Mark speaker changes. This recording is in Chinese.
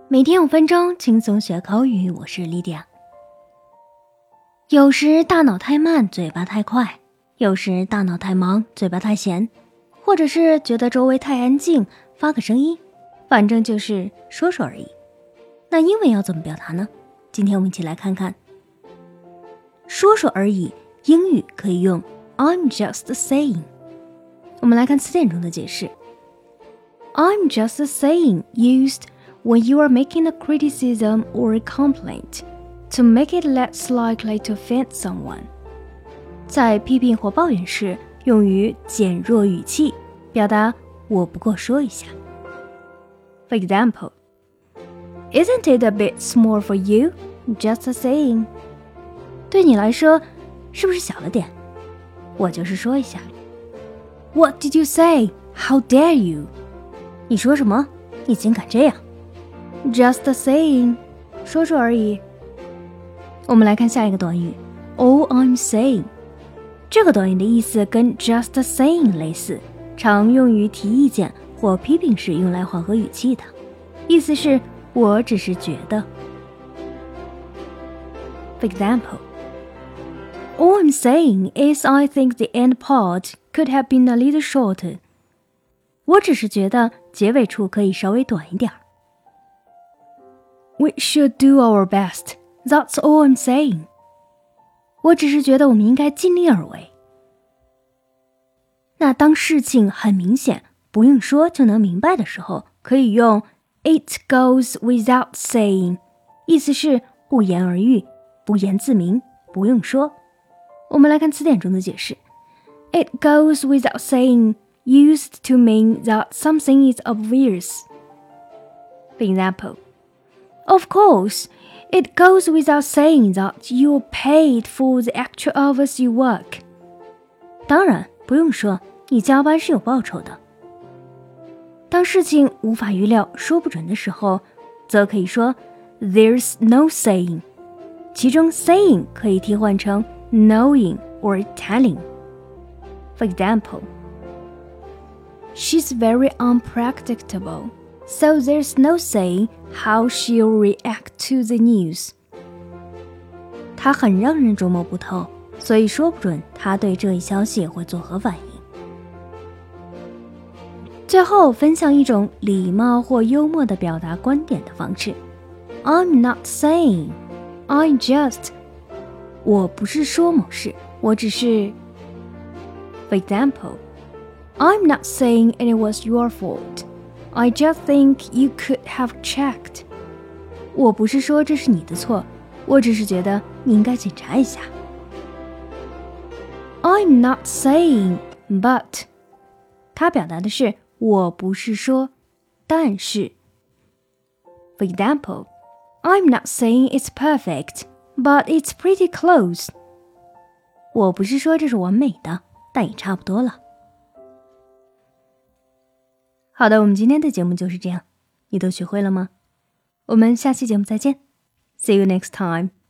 Speaker 1: 每天5分钟，轻松学口语。我是莉迪亚。有时大脑太慢，嘴巴太快；有时大脑太忙，嘴巴太闲；或者是觉得周围太安静，发个声音，反正就是说说而已。那英文要怎么表达呢？今天我们一起来看看。说说而已，英语可以用 I'm just saying。我们来看词典中的解释。I'm just saying used when you are making a criticism or a complaint to make it less likely to offend someone. 在批评或抱怨时，用于减弱语气，表达我不过说一下。For example, Isn't it a bit small for you? Just saying. 对你来说，是不是小了点？我就是说一下。What did you say? How dare you? 你说什么？你竟敢这样？Just saying， 说说而已。我们来看下一个短语 All I'm saying。 这个短语的意思跟 just saying 类似，常用于提意见或批评时用来缓和语气的，意思是我只是觉得。 For example, All I'm saying is I think the end part could have been a little shorter. 我只是觉得结尾处可以稍微短一点。We should do our best. That's all I'm saying. 我只是觉得我们应该尽力而为。那当事情很明显，不用说就能明白的时候，可以用 It goes without saying， 意思是不言而喻，不言自明，不用说。我们来看词典中的解释。It goes without saying used to mean that something is obvious. For example,Of course, it goes without saying that you're paid for the actual hours you work. 当然，不用说，你加班是有报酬的。当事情无法预料、说不准的时候，则可以说 There's no saying。其中 saying 可以替换成 knowing or telling. For example, She's very unpredictable.So there's no saying how she'll react to the news. 她很让人捉摸不透，所以说不准她对这一消息会作何反应。最后分享一种礼貌或幽默的表达观点的方式。I'm not saying, I just. 我不是说某事，我只是。For example, I'm not saying it was your fault.I just think you could have checked. 我不是说这是你的错，我只是觉得你应该检查一下。I'm not saying, but. 它表达的是我不是说，但是。For example, I'm not saying it's perfect, but it's pretty close. 我不是说这是完美的，但也差不多了。好的，我们今天的节目就是这样，你都学会了吗？我们下期节目再见。See you next time.